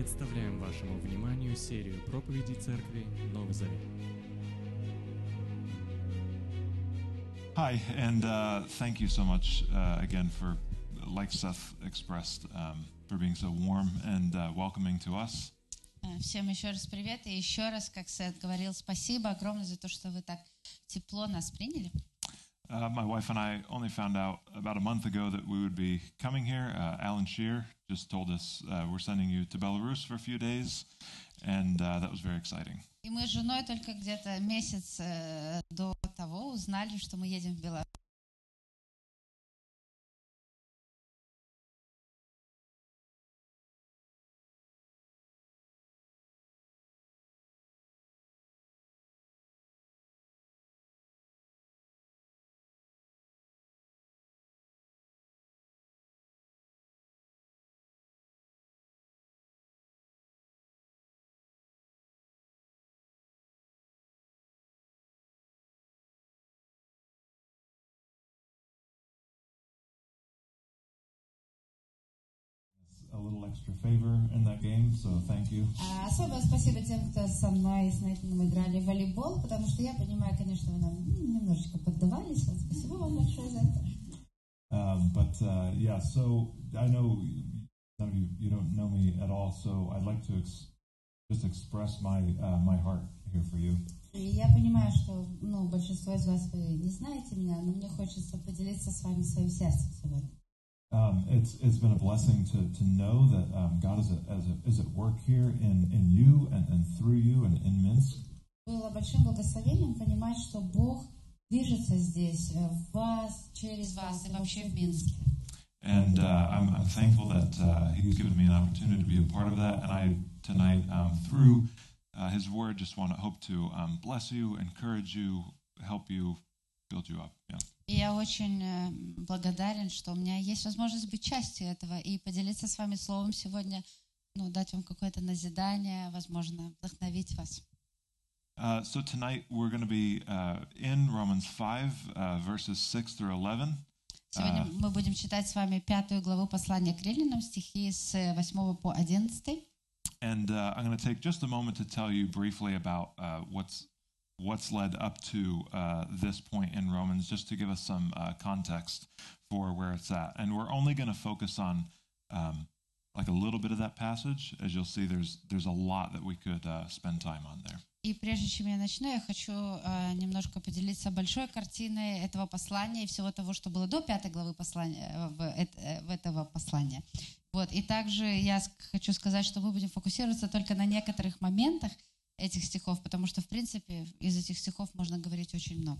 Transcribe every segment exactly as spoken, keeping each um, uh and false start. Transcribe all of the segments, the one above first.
Представляем вашему вниманию серию проповедей Церкви Новый Завет. Hi, and uh, thank you so much uh, again for, like Seth expressed, um, for being so warm and uh, welcoming to us. Всем еще раз привет, и еще раз, как Сет говорил, спасибо огромное за то, что вы так тепло нас приняли. Uh, my wife and I only found out about a month ago that we would be coming here. Uh, Alan Shear just told us uh, we're sending you to Belarus for a few days, and uh, that was very exciting. И мы с женой только где-то месяц э, до того узнали, что мы едем в Беларусь. A little extra favor in that game, so thank you. Особое спасибо тем, кто со мной с Нейтаном играли в волейбол, потому что я понимаю, конечно, вы нам немножечко поддавались. Вот спасибо вам большое за это. Um, but uh, yeah, so I know none of you you don't know me at all, so I'd like to ex- just express my uh, my heart here for you. И я понимаю, что ну, большинство из вас вы не знаете меня, но мне хочется поделиться с вами своим сердцем сегодня. Um, it's it's been a blessing to to know that um, God is a, as a, is at work here in, in you and, and through you and in Minsk. Было большим благословением понимать, что Бог движется здесь, в вас, через вас и вообще в Минске. And uh, I'm, I'm thankful that uh, He's given me an opportunity to be a part of that. And I tonight, um, through uh, His Word, just want to hope to um, bless you, encourage you, help you, build you up. Yeah. И я очень э, благодарен, что у меня есть возможность быть частью этого и поделиться с вами словом сегодня, ну, дать вам какое-то назидание, возможно, вдохновить вас. Uh, so tonight we're going to be uh, in Romans five, uh, verses six through eleven. Сегодня мы будем читать с вами пятую главу послания к Римлянам, стихи с восьмого по одиннадцатый. And uh, I'm going to take just a moment to tell you briefly about uh, what's what's led up to uh, this point in Romans, just to give us some uh, context for where it's at. And we're only going to focus on um, like a little bit of that passage. As you'll see, there's there's a lot that we could uh, spend time on there. И прежде чем я начну, я хочу э, немножко поделиться большой картиной этого послания и всего того, что было до пятой главы послания, в, э, в этого послания. Вот. И также я хочу сказать, что мы будем фокусироваться только на некоторых моментах этих стихов, потому что, в принципе, из этих стихов можно говорить очень много.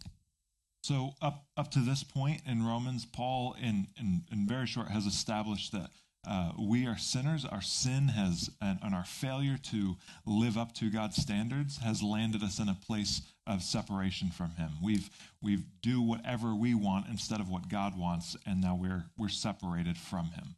So up up to this point in Romans, Paul, in in, in very short, has established that uh, we are sinners. Our sin has and, and our failure to live up to God's standards has landed us in a place of separation from Him. We've we've do whatever we want instead of what God wants, and now we're we're separated from Him.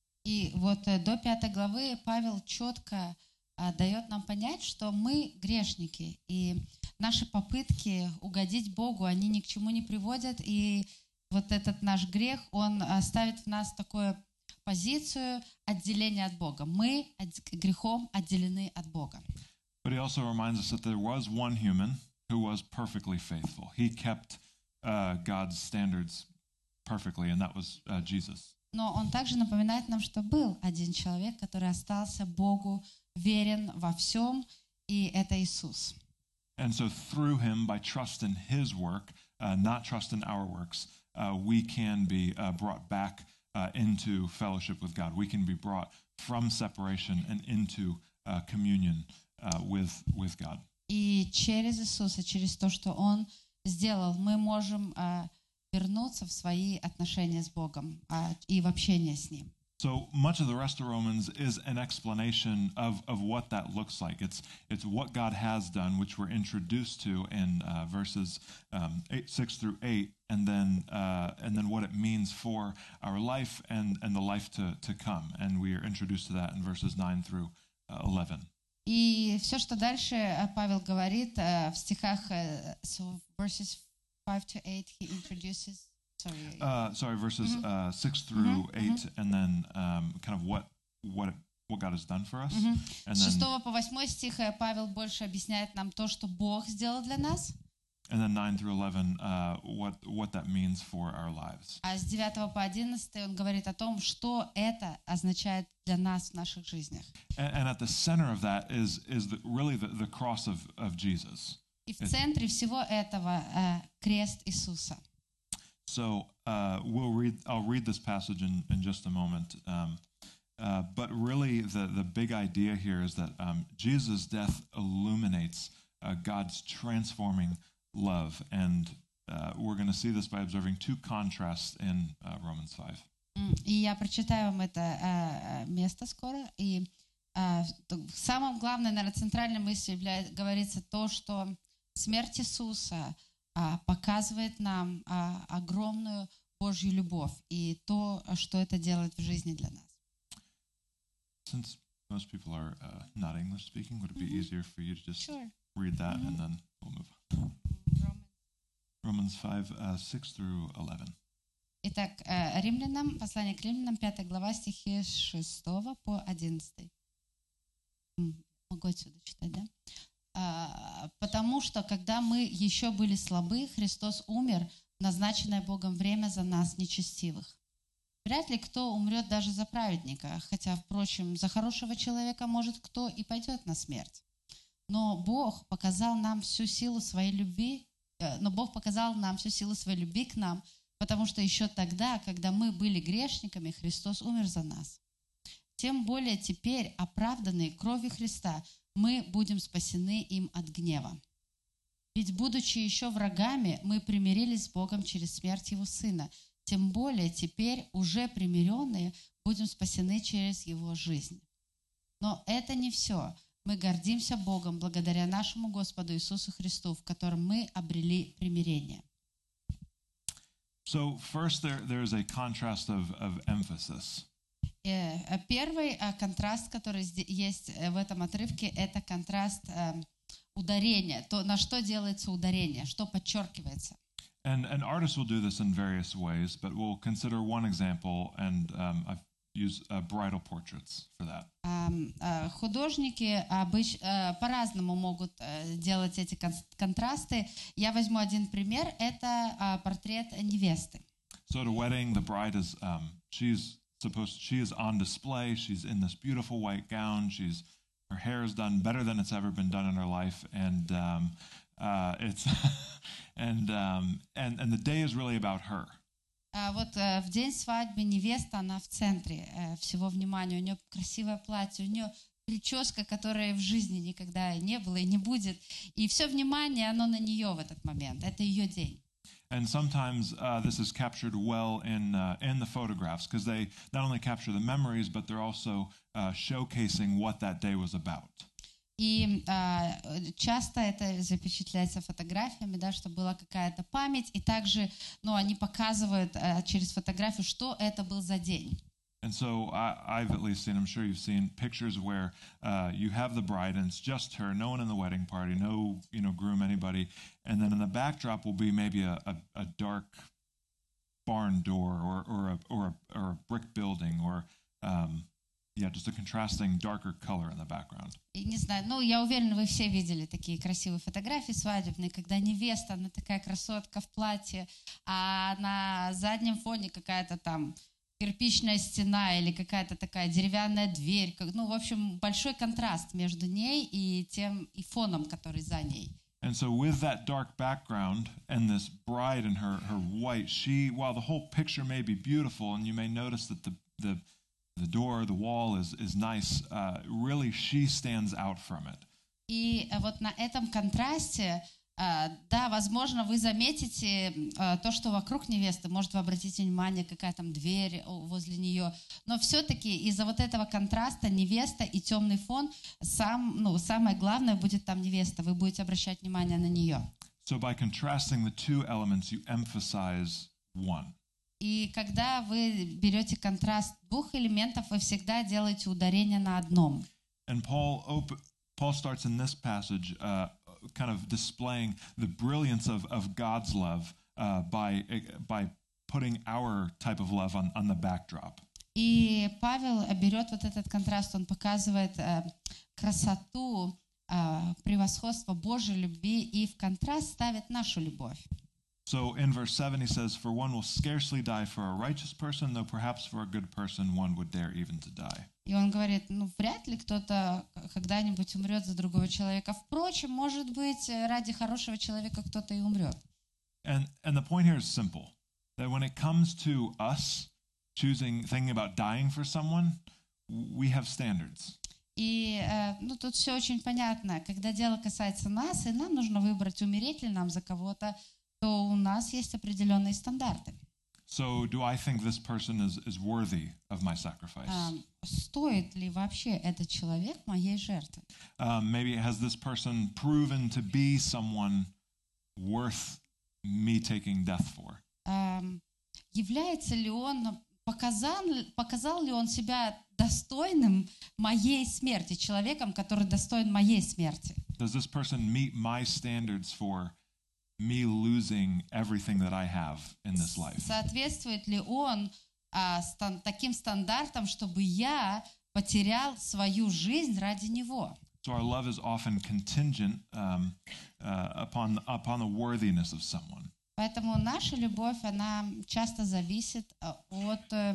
И вот до пятой главы Павел четко дает нам понять, что мы грешники, и наши попытки угодить Богу, они ни к чему не приводят, и вот этот наш грех, он ставит в нас такую позицию отделения от Бога. Мы грехом отделены от Бога. But he also reminds us that there was one human who was perfectly faithful. He kept uh, God's standards perfectly, and that was uh, Jesus. Но он также напоминает нам, что был один человек, который остался Богу верен во всем, и это Иисус. And so through him, by trust in his work, uh, not trust in our works, uh, we can be uh, brought back uh, into fellowship with God. We can be brought from separation and into uh, communion uh, with, with God. И через Иисуса, через то, что Он сделал, мы можем uh, вернуться в свои отношения с Богом uh, и в общение с Ним. So much of the rest of Romans is an explanation of, of what that looks like. It's it's what God has done, which we're introduced to in uh, verses um, eight, six through eight, and then uh, and then what it means for our life and, and the life to, to come. And we are introduced to that in verses nine through uh, eleven. И все, что дальше Павел говорит в стихах, so verses five to eight, he introduces. Sorry, uh, sorry, verses mm-hmm. uh, six through mm-hmm. eight, mm-hmm. and then um, kind of what what it, what God has done for us. Мгм. And С then, шестого по восьмой стих э, Павел больше объясняет нам то, что Бог сделал для нас, and then nine through eleven, uh, what, what that means for our lives. а с девятого по одиннадцатый он говорит о том, что это означает для нас в наших жизнях. And, and at the center of that is, is the, really the, the cross of, of Jesus. И в центре всего этого э, крест Иисуса. So uh, we'll read. I'll read this passage in, in just a moment. Um, uh, but really, the, the big idea here is that um, Jesus' death illuminates uh, God's transforming love, and uh, we're going to see this by observing two contrasts in uh, Romans five. М, И я прочитаю вам это э, место скоро. И э, т- самым главным, наверное, центральной мыслью является, говорится то, что смерть Иисуса а, показывает нам а, огромную Божью любовь и то, что это делает в жизни для нас. Since most people are uh, not English speaking, would it be Mhm. easier for you to just Sure. read that and Mhm. then we'll move on? Romans five, uh, six through eleven. Итак, э, Римлянам, послание к Римлянам, пятая глава, стихи с шестого по одиннадцатый. М, Могу отсюда читать, да? А, «Потому что, когда мы еще были слабы, Христос умер в назначенное Богом время за нас, нечестивых. Вряд ли кто умрет даже за праведника, хотя, впрочем, за хорошего человека может кто и пойдет на смерть. Но Бог показал нам всю силу своей любви, э, но Бог показал нам всю силу своей любви к нам, потому что еще тогда, когда мы были грешниками, Христос умер за нас. Тем более теперь, оправданные кровью Христа, мы будем спасены им от гнева. Ведь, будучи еще врагами, мы примирились с Богом через смерть Его Сына. Тем более теперь, уже примиренные, будем спасены через Его жизнь. Но это не все. Мы гордимся Богом благодаря нашему Господу Иисусу Христу, в котором мы обрели примирение». So first, there there is a contrast of of emphasis. Э, э, Первый э, контраст, который зде- есть э, в этом отрывке, это контраст э, ударения, то, на что делается ударение, что подчеркивается. And and artists will do this in various ways, but we'll consider one example, and um, I've used uh, bridal portraits for that. Ам, э, Художники обыч- э, по-разному могут э, делать эти кон- контрасты. Я возьму один пример. Это э, портрет невесты. So at a wedding, the bride is um, she's supposed she is on display. She's in this beautiful white gown. She's her hair is done better than it's ever been done in her life, and um, uh, it's and um, and and the day is really about her. А вот э, в день свадьбы невеста, она в центре э, всего внимания. У нее красивое платье, у нее прическа, которой в жизни никогда не было и не будет. И все внимание, оно на нее в этот момент. Это ее день. And sometimes uh, this is captured well in uh, in the photographs because they not only capture the memories, but they're also uh, showcasing what that day was about. И а, часто это запечатляется фотографиями, да, чтобы была какая-то память. И также, ну, они показывают а, через фотографию, что это был за день. And so I, I've at least seen, I'm sure you've seen pictures where uh, you have the bride and it's just her, no one in the wedding party, no, you know, groom, anybody. And then in the backdrop will be maybe a, a, a dark barn door or, or, a, or, a, or a brick building or, um, yeah, just a contrasting darker color in the background. И не знаю, ну, я уверена, вы все видели такие красивые фотографии свадебные, когда невеста, она такая красотка в платье, а на заднем фоне какая-то там кирпичная стена или какая-то такая деревянная дверь. Как- Ну, в общем, большой контраст между ней и тем и фоном, который за ней. And so with that dark background and this bride in her, her white, she, while the whole picture may be beautiful and you may notice that the, the, the door, the wall is, is nice, uh, really she stands out from it. И э, вот на этом контрасте, э, да, возможно, вы заметите э, то, что вокруг невесты, может, вы обратите внимание, какая там дверь о, возле нее, но все-таки из-за вот этого контраста невеста и темный фон, сам, ну, самое главное будет там невеста, вы будете обращать внимание на нее. So by contrasting the two elements, you emphasize one. И когда вы берете контраст двух элементов, вы всегда делаете ударение на одном. And Paul op- Paul starts in this passage uh, kind of displaying the brilliance of, of God's love uh, by by putting our type of love on, on the backdrop. И Павел берет вот этот контраст, он показывает э, красоту, э, превосходство Божьей любви и в контраст ставит нашу любовь. So in verse seven, he says, "For one will scarcely die for a righteous person, though perhaps for a good person one would dare even to die." И он говорит, ну, вряд ли кто-то когда-нибудь умрет за другого человека. Впрочем, может быть, ради хорошего человека кто-то и умрет. And and the point here is simple: that when it comes to us choosing, thinking about dying for someone, we have standards. И э, ну, тут все очень понятно. Когда дело касается нас, и нам нужно выбрать, умереть ли нам за кого-то, то у нас есть определенные стандарты. So do I think this person is, is worthy of my sacrifice? Um, стоит ли вообще этот человек моей жертвы? Um, maybe has this person proven to be someone worth me taking death for? Um, является ли он, показал, показал ли он себя достойным моей смерти, человеком, который достоин моей смерти? Does this person meet my standards for me losing everything that I have in this life? Соответствует ли он а, стан, таким стандартам, чтобы я потерял свою жизнь ради него? So our love is often contingent um, uh, upon upon the worthiness of someone. Поэтому наша любовь, она часто зависит от э,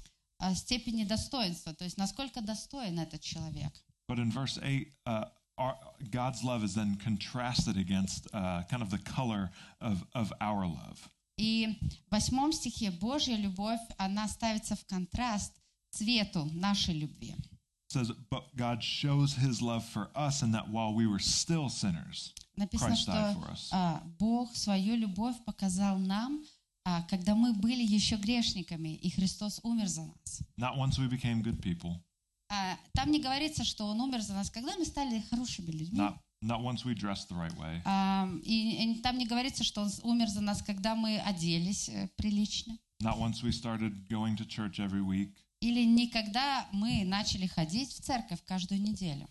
степени достоинства, то есть насколько достоин этот человек. But in verse eight, uh, our, God's love is then contrasted against uh, kind of the color of, of our love. И в восьмом стихе Божья любовь, она ставится в контраст цвету нашей любви. It says, but God shows his love for us in that while we were still sinners, Написано, Christ died что for us. а, Бог свою любовь показал нам, а, когда мы были еще грешниками, и Христос умер за нас. Not once we became good people, А, там не говорится, что Он умер за нас, когда мы стали хорошими людьми. not, not once we dressed the right way, А, и, и там не говорится, что Он умер за нас, когда мы оделись э, прилично. not once we started going to church every week, Или не когда мы начали ходить в церковь каждую неделю.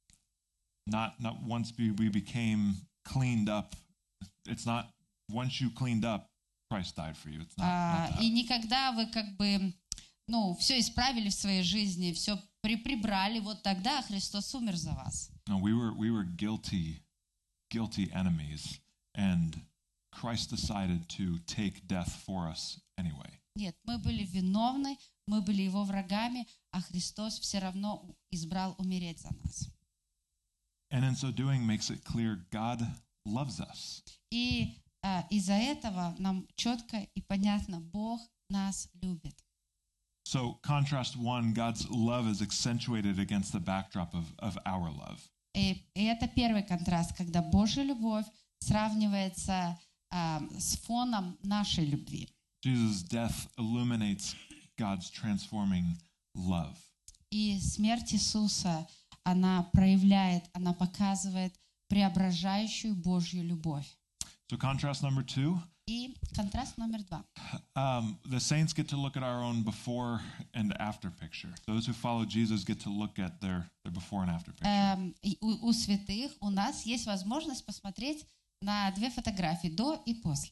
not not once we, we became cleaned up. It's not once you cleaned up, Christ died for you. It's not, А, not that. и никогда вы как бы, ну, все исправили в своей жизни, все при прибрали, вот тогда Христос умер за вас. No, we were we were guilty, guilty enemies, and Christ decided to take death for us anyway. Нет, мы были виновны, мы были Его врагами, а Христос все равно избрал умереть за нас. And in so doing makes it clear God loves us. И а, из-за этого нам четко и понятно, Бог нас любит. So contrast one, God's love is accentuated against the backdrop of, of our love. И, и это первый контраст, когда Божья любовь сравнивается а, с фоном нашей любви. Jesus' death illuminates God's transforming love. И смерть Иисуса, она проявляет, она показывает преображающую Божью любовь. So contrast number two, И контраст номер два. um, the saints get to look at our own before and after picture. Those who follow Jesus get to look at their, their before and after picture. Эм, и у, у святых у нас есть возможность посмотреть на две фотографии, до и после.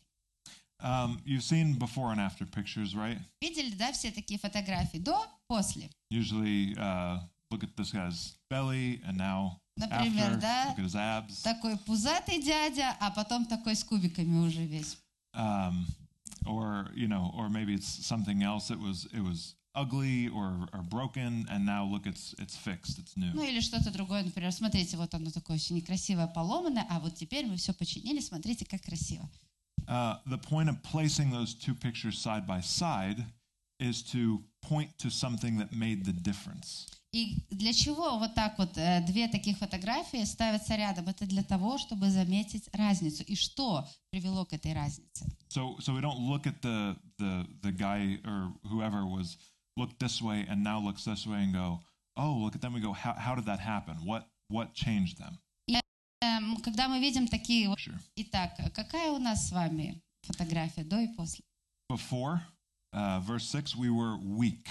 Um, you've seen before and after pictures, right? Видели, да, все такие фотографии? До, после. Usually, uh, look at this guy's belly, and now Например, after, да, look at his abs. такой пузатый дядя, а потом такой с кубиками уже весь. Um, or you know, or maybe it's something else. It was it was ugly or, or broken, and now look, it's it's fixed, it's new. Ну или что-то другое, например, смотрите, вот оно такое все некрасивое, поломанное, а вот теперь мы все починили, смотрите, как красиво. Uh, the point of placing those two pictures side by side is to point to something that made the difference. И для чего вот так вот э, две таких фотографии ставятся рядом? Это для того, чтобы заметить разницу. И что привело к этой разнице? So so we don't look at the the the guy or whoever was looked this way and now looks this way and go, oh, look at them. We go, how how did that happen? What what changed them? И, э, когда мы видим такие... вот- Sure. Итак, какая у нас с вами фотография до и после? Before, uh, verse six, we were weak.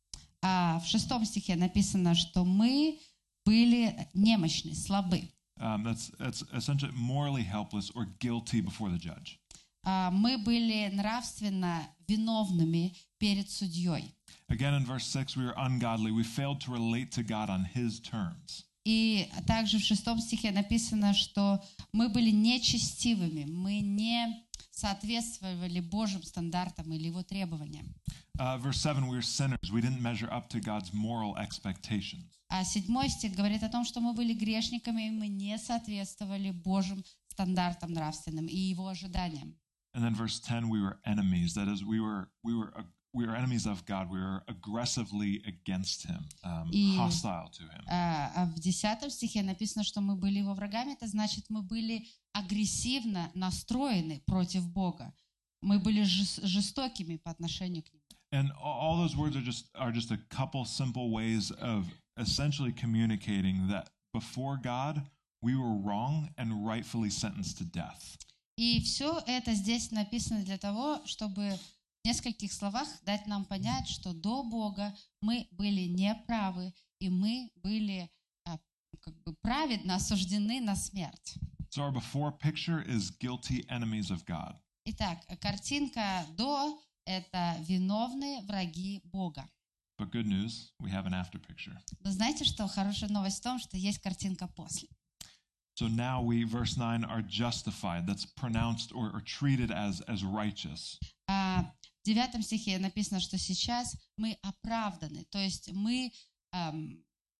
А в шестом стихе написано, что мы были немощны, слабы. Um, that's that's essentially morally helpless or guilty before the judge. А мы были нравственно виновными перед судьей. Again, in verse six, we were ungodly. We failed to relate to God on His terms. И также в шестом стихе написано, что мы были нечестивыми, мы не соответствовали Божьим стандартам или Его требованиям. Uh, verse seven, we were sinners. We didn't measure up to God's moral expectations. А седьмой стих говорит о том, что мы были грешниками, и мы не соответствовали Божьим стандартам нравственным и Его ожиданиям. And then verse ten, we were enemies. That is, we were we were we were enemies of God. We were aggressively against Him, um, И, hostile to Him. А, а в десятом стихе написано, что мы были Его врагами. Это значит, мы были агрессивно настроены против Бога. Мы были жес- жестокими по отношению к Нему. And all those words are just are just a couple simple ways of essentially communicating that before God we were wrong and rightfully sentenced to death. И все это здесь написано для того, чтобы в нескольких словах дать нам понять, что до Бога мы были неправы, и мы были а, как бы праведно осуждены на смерть. So our before picture is guilty enemies of God. Итак, картинка до — это виновные враги Бога. But good news, we have an after picture. Но знаете, что хорошая новость в том, что есть картинка после. So now we, verse nine, are justified. That's pronounced or, or treated as, as righteous. А в девятом стихе написано, что сейчас мы оправданы, то есть мы эм,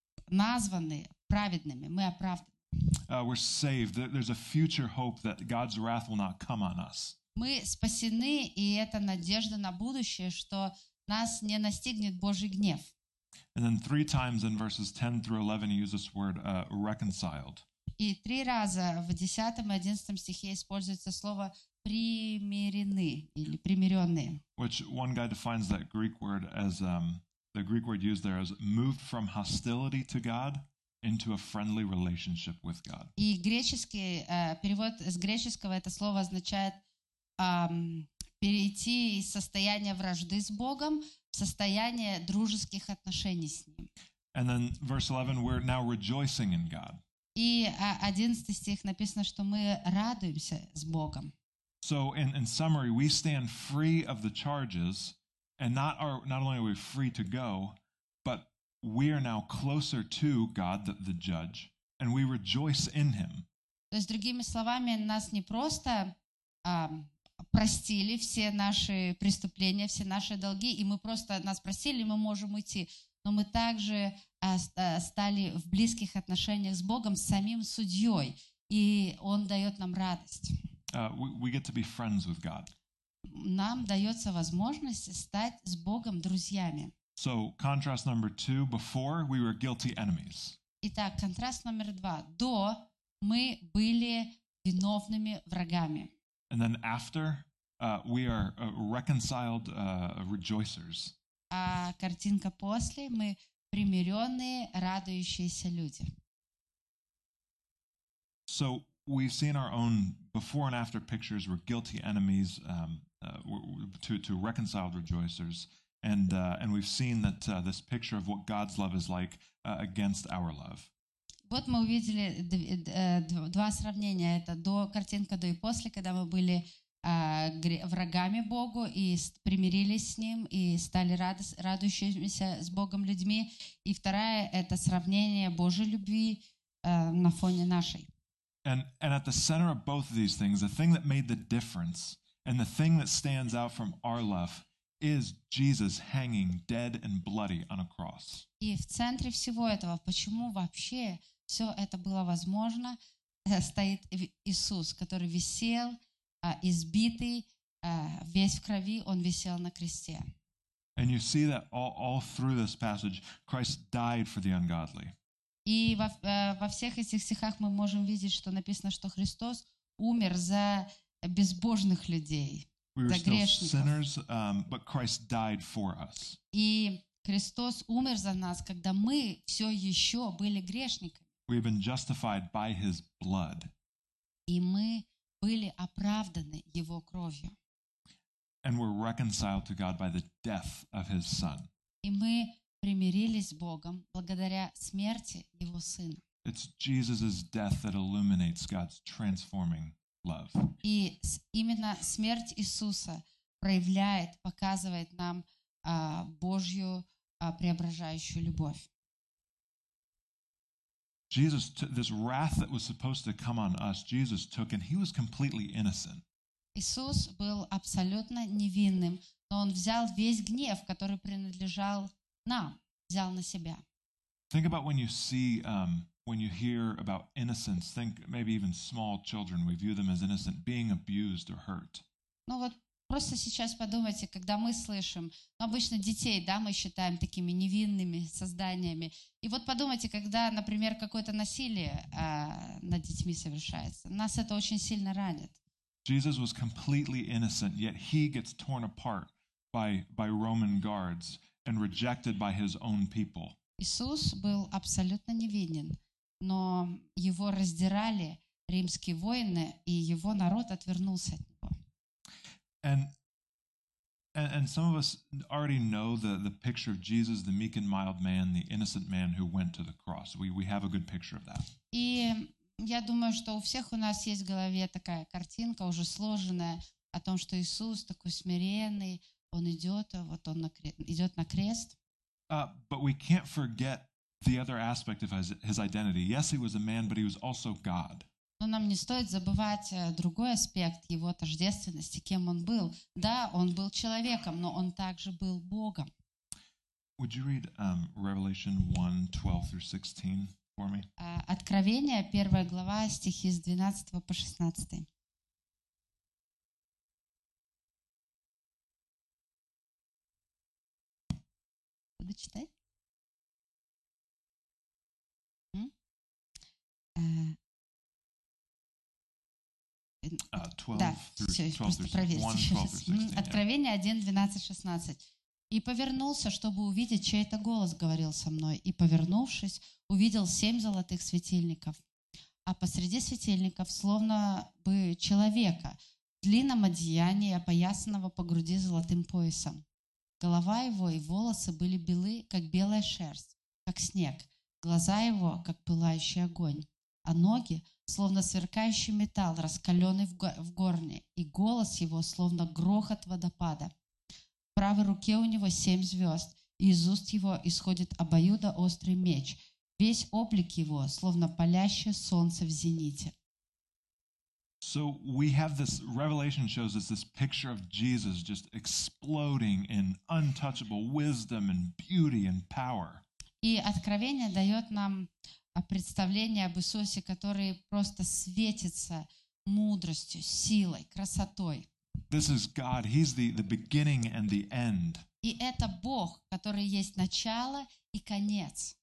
названы праведными, мы оправданы. Uh, we're saved. There- There's a future hope that God's wrath will not come on us. Мы спасены, и это надежда на будущее, что нас не настигнет Божий гнев. And then three times in verses ten through eleven, he uses this word uh, reconciled. И три раза в десятом и одиннадцатом стихе используется слово «примирены» или «примиренные». Which one guy defines that Greek word as um, the Greek word used there as moved from hostility to God into a friendly relationship with God. И греческий э, перевод с греческого это слово означает ам, перейти из состояния вражды с Богом в состояние дружеских отношений с Ним. And then verse eleven, we're now rejoicing in God. И а, одиннадцатый стих написано, что мы радуемся с Богом. So in, in summary, we stand free of the charges, and not are not only are we free to go, but we are now closer to God, the, the judge, and we rejoice in Him. То есть, другими словами, нас не просто ам, простили все наши преступления, все наши долги, и мы просто нас простили, и мы можем уйти. Но мы также а, ст- а, стали в близких отношениях с Богом, с самим судьей, и Он дает нам радость. Uh, we, we get to be friends with God. Нам дается возможность стать с Богом друзьями. So contrast number two, before we were guilty enemies. Итак, контраст номер два. До мы были виновными врагами. And then after, uh, we are uh, reconciled uh, rejoicers. А картинка после мы примиренные, радующиеся люди. So we've seen our own before and after pictures. We're guilty enemies um, uh, we're- to, to reconciled rejoicers. And, uh, and we've seen that uh, this picture of what God's love is like uh, against our love. Вот мы увидели дв- э, дв- два сравнения. Это до, картинка до и после, когда мы были а, гре- врагами Богу и с- примирились с Ним и стали радос- радующимися с Богом людьми. И вторая — это сравнение Божьей любви э, на фоне нашей. And, and at the center of both of these things, the thing that made the difference and the thing that stands out from our love is Jesus hanging dead and bloody on a cross. И в центре всего этого, почему вообще все это было возможно, э, стоит Ви- Иисус, который висел, а, избитый, а, весь в крови, Он висел на кресте. And you see that all, all through this passage, Christ died for the ungodly. И во, э, во всех этих стихах мы можем видеть, что написано, что Христос умер за безбожных людей, We were за still грешников. sinners, um, but Christ died for us. И Христос умер за нас, когда мы все еще были грешниками. We have been justified by His blood. И мы были оправданы Его кровью. And we're reconciled to God by the death of His Son. И мы примирились с Богом благодаря смерти Его Сына. It's Jesus' death that illuminates God's transforming love. И с- именно смерть Иисуса проявляет, показывает нам а, Божью а, преображающую любовь. Jesus, t- this wrath that was supposed to come on us, Jesus took, and he was completely innocent. Иисус был абсолютно невинным, но Он взял весь гнев, который принадлежал нам, взял на себя. Think about when you see, um, when you hear about innocence, think maybe even small children, we view them as innocent, being abused or hurt. Ну вот просто сейчас подумайте, когда мы слышим, ну, обычно детей, да, мы считаем такими невинными созданиями. И вот подумайте, когда, например, какое-то насилие а, над детьми совершается, нас это очень сильно ранит. Jesus was completely innocent, yet he gets torn apart by, by Roman guards and rejected by his own people. Иисус был абсолютно невинен, но его раздирали римские воины, и его народ отвернулся от него. And, and and some of us already know the, the picture of Jesus, the meek and mild man, the innocent man who went to the cross. We, we have a good picture of that. И я думаю, что у всех у нас есть в голове такая картинка уже сложенная о том, что Иисус такой смиренный, Он идет, вот Он на кре- идет на крест. Uh, but we can't forget the other aspect of his, his identity. Yes, he was a man, but he was also God. Но нам не стоит забывать э, другой аспект его тождественности, кем Он был. Да, Он был человеком, но Он также был Богом. Would you read um, Revelation one, twelve through sixteen for me? А, Откровение, первая глава, стихи с двенадцатого по шестнадцатый. Буду читать? М? А, Uh, twelve Да, through, все, twelve просто through проверьте one, еще twelve раз. through М, sixteen. Yeah. Откровение один, двенадцать, шестнадцать. «И повернулся, чтобы увидеть, чей-то голос говорил со мной. И, повернувшись, увидел семь золотых светильников. А посреди светильников, словно бы человека, в длинном одеянии, опоясанного по груди золотым поясом. Голова его и волосы были белы, как белая шерсть, как снег, глаза его, как пылающий огонь, а ноги, словно сверкающий металл, раскаленный в го- в горне, и голос его, словно грохот водопада. В правой руке у него семь звезд, и из уст его исходит обоюдоострый меч, весь облик его, словно палящее солнце в зените». So we have this, Revelation shows us this picture of Jesus just exploding in untouchable wisdom and beauty and power. И Откровение дает нам а, представление об Иисусе, который просто светится мудростью, силой, красотой. This is God. He's the, the beginning and the end. И это Бог, который есть начало и конец.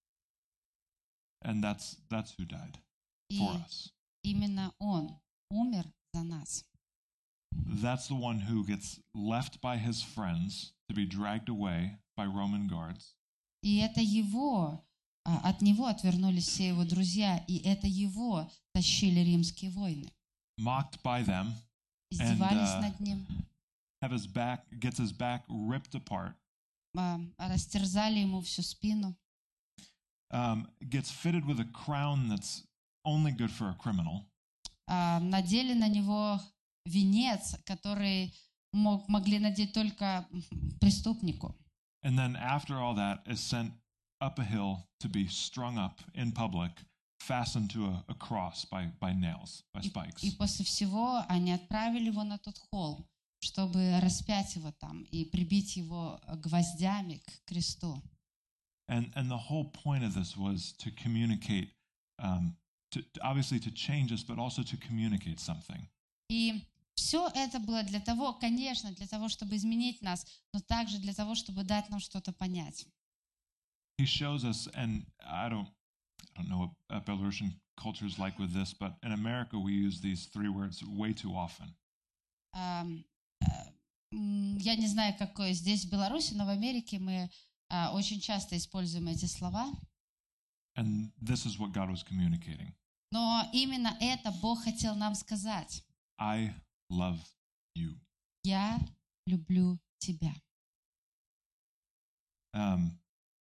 And that's that's who died И for us. именно Он умер за нас. That's the one who gets left by his friends to be dragged away by Roman guards. И это Его, а, от Него отвернулись все Его друзья, и это Его тащили римские войны. Mocked by them, Издевались uh, над Ним, have his back gets his back ripped apart, а, растерзали Ему всю спину, um, gets fitted with a crown that's only good for a criminal, а, надели на Него венец, который мог, могли надеть только преступнику. and then after all that is sent up a hill to be strung up in public, fastened to a, a cross by, by nails, by И, spikes. и после всего они отправили Его на тот холм, чтобы распять Его там и прибить Его гвоздями к кресту. And and the whole point of this was to communicate, um, to, to- obviously to change us, but also to communicate something. И все это было для того, конечно, для того, чтобы изменить нас, но также для того, чтобы дать нам что-то понять. He shows us, and I don't, I don't know what uh, Belarusian culture is like with this, but in America we use these three words way too often. Ам, э, м, Я не знаю, какое здесь в Беларуси, но в Америке мы а, очень часто используем эти слова. And this is what God was communicating. Но именно это Бог хотел нам сказать. I love you. Я люблю тебя. Um,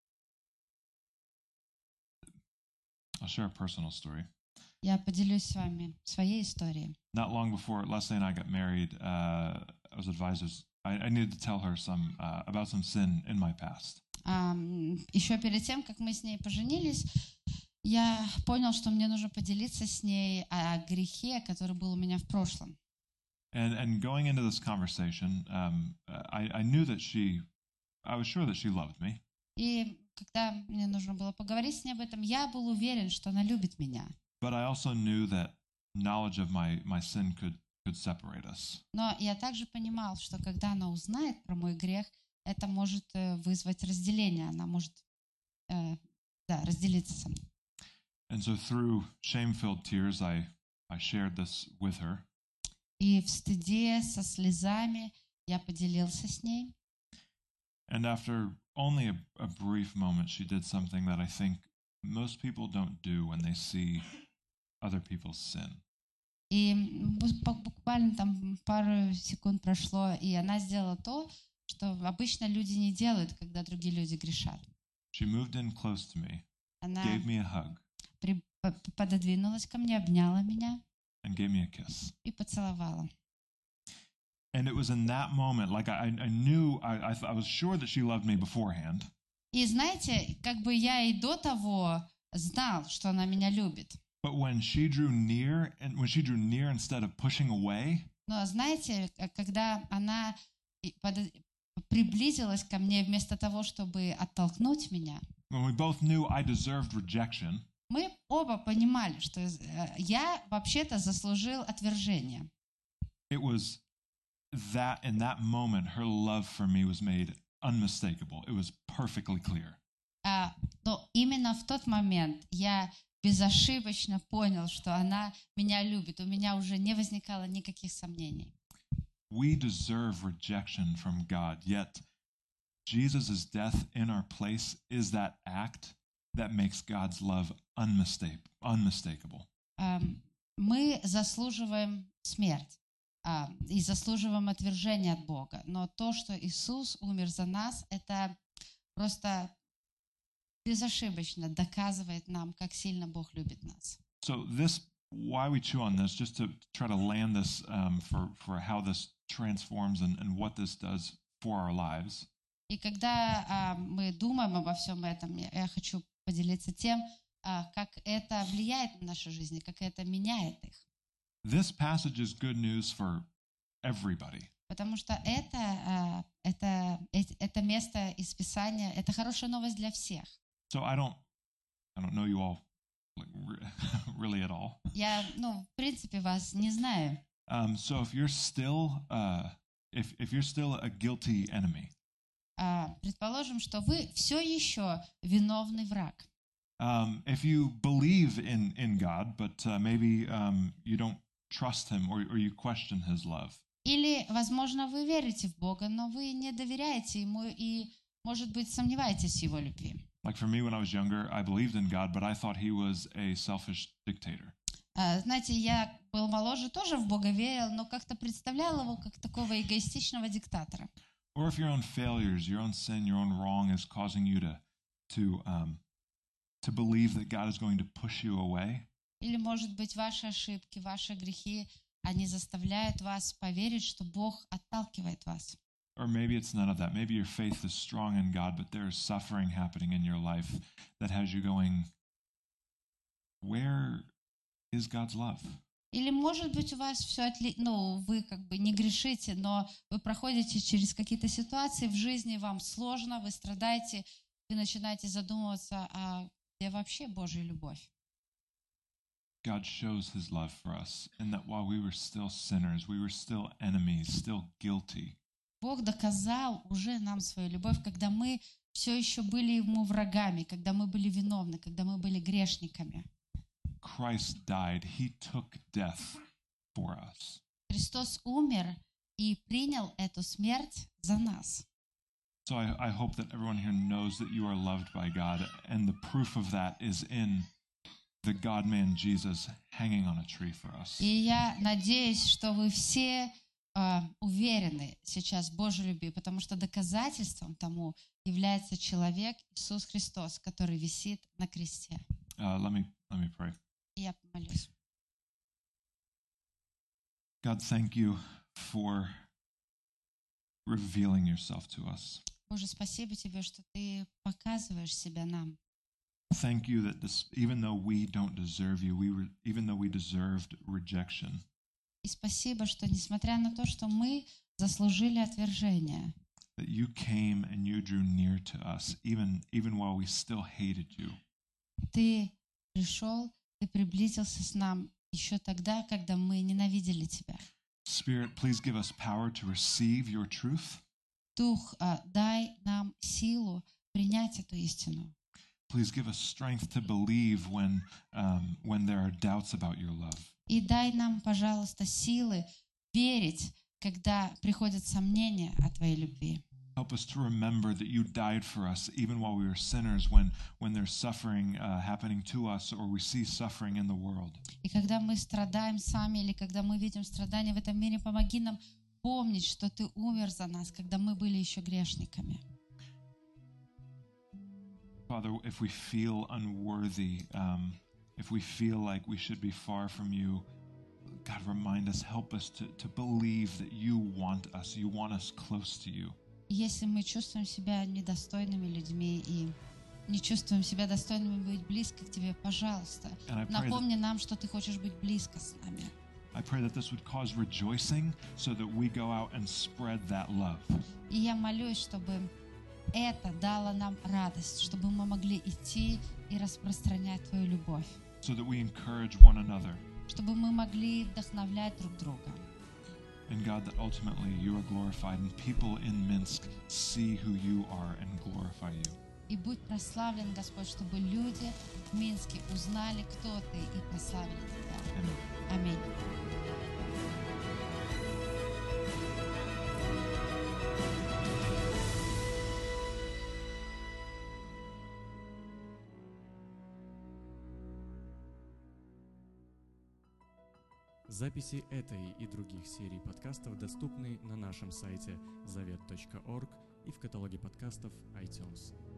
I'll share a personal story. Я поделюсь с вами своей историей. Not long before Leslie and I got married, uh, I was advised there's I, I needed to tell her some uh, about some sin in my past. Еще перед тем, как мы с ней поженились, я понял, что мне нужно поделиться с ней о грехе, который был у меня в прошлом. And and going into this conversation, um, I, I knew that she, I was sure that she loved me. И когда мне нужно было поговорить с ней об этом, я был уверен, что она любит меня. But I also knew that knowledge of my, my sin could, could separate us. Но я также понимал, что когда она узнает про мой грех, это может вызвать разделение. Она может э, да, разделиться со мной. And so through shame-filled tears, I, I shared this with her. И в стыде, со слезами я поделился с ней. And after only a, a brief moment, she did something that I think most people don't do when they see other people's sin. И буквально там пару секунд прошло, и она сделала то, что обычно люди не делают, когда другие люди грешат. She moved in close to me, Она gave me a hug, при, пододвинулась ко мне, обняла меня and gave me a kiss. и поцеловала. And it was in that moment, like I, I knew, I, I, I was sure that she loved me beforehand. И знаете, как бы я и до того знал, что она меня любит. But when she drew near, and when she drew near instead of pushing away, Но знаете, когда она приблизилась ко мне вместо того, чтобы оттолкнуть меня, when we both knew I deserved rejection, мы оба понимали, что я вообще-то заслужил отвержение. it was that in that moment, her love for me was made unmistakable. It was perfectly clear. А, но именно в тот момент я безошибочно понял, что она меня любит. У меня уже не возникало никаких сомнений. We deserve rejection from God, yet Jesus' death in our place is that act that makes God's love unmistake, unmistakable. А, мы заслуживаем смерть. А, и заслуживаем отвержения от Бога. Но то, что Иисус умер за нас, это просто безошибочно доказывает нам, как сильно Бог любит нас. So this, why we chew on this, just to try to land this um, for, for how this transforms and, and what this does for our lives. И когда а, мы думаем обо всем этом, я, я хочу поделиться тем, а, как это влияет на нашу жизнь, как это меняет их. This passage is good news for everybody. Потому что это, это, это место из Писания, это хорошая новость для всех. So I don't, I don't know you all like, really at all. Я, ну, в принципе, вас не знаю. Um, so if you're still, uh, if if you're still a guilty enemy, uh, предположим, что вы все еще виновный враг. Um, if you believe in in God, but uh, maybe um, you don't trust Him or or you question His love. Или, возможно, вы верите в Бога, но вы не доверяете Ему и, может быть, сомневаетесь в Его любви. Like for me, when I was younger, I believed in God, but I thought He was a selfish dictator. Uh, знаете, я был моложе, тоже в Бога верил, но как-то представлял Его как такого эгоистичного диктатора. Or if your own failures, your own sin, your own wrong is causing you to to um, to believe that God is going to push you away. Или, может быть, ваши ошибки, ваши грехи, они заставляют вас поверить, что Бог отталкивает вас. Or maybe it's none of that. Maybe your faith is strong in God, but there is suffering happening in your life that has you going, where is God's love? Или, может быть, у вас все отлично, ну, вы как бы не грешите, но вы проходите через какие-то ситуации в жизни, вам сложно, вы страдаете, вы начинаете задумываться, а где вообще Божья любовь? God shows His love for us in that while we were still sinners, we were still enemies, still guilty. Бог доказал уже нам свою любовь, когда мы все еще были Ему врагами, когда мы были виновны, когда мы были грешниками. Christ died. He took death for us. Христос умер и принял эту смерть за нас. So I, I hope that everyone here knows that you are loved by God, and the proof of that is in the God-man Jesus hanging on a tree for us. И я надеюсь, что вы все uh, уверены сейчас в Божьей любви, потому что доказательством тому является человек Иисус Христос, который висит на кресте. Uh, let me let me pray. И я помолюсь. God, thank you for revealing yourself to us. Боже, спасибо Тебе, что Ты показываешь себя нам. Thank you that this, even though we don't deserve you, we re, even though we deserved rejection, И спасибо, что несмотря на то, что мы заслужили отвержение, that you came and you drew near to us, even even while we still hated you. Ты пришел, Ты приблизился с нам еще тогда, когда мы ненавидели Тебя. Spirit, please give us power to receive your truth. Дух, а, дай нам силу принять эту истину. Please give us strength to believe when um, when there are doubts about your love. И дай нам, пожалуйста, силы верить, когда приходят сомнения о Твоей любви. Help us to remember that you died for us even while we were sinners, when, when there's suffering uh, happening to us or we see suffering in the world. И когда мы страдаем сами или когда мы видим страдания в этом мире, помоги нам помнить, что Ты умер за нас, когда мы были еще грешниками. Father, if we feel unworthy, um, if we feel like we should be far from you, God, remind us, help us to, to believe that you want us, you want us close to you. Если мы чувствуем себя недостойными людьми и не чувствуем себя достойными быть близко к Тебе, пожалуйста, напомни нам, что Ты хочешь быть близко с нами. I pray that this would cause rejoicing so that we go out and spread that love. И я молюсь, чтобы это дало нам радость, чтобы мы могли идти и распространять Твою любовь, So that we encourage one another. чтобы мы могли вдохновлять друг друга. And God, that ultimately you are glorified and people in Minsk see who you are and glorify you. И будь прославлен, Господь, чтобы люди в Минске узнали, кто Ты, и прославили Тебя. Аминь. Записи этой и других серий подкастов доступны на нашем сайте завет точка орг и в каталоге подкастов iTunes.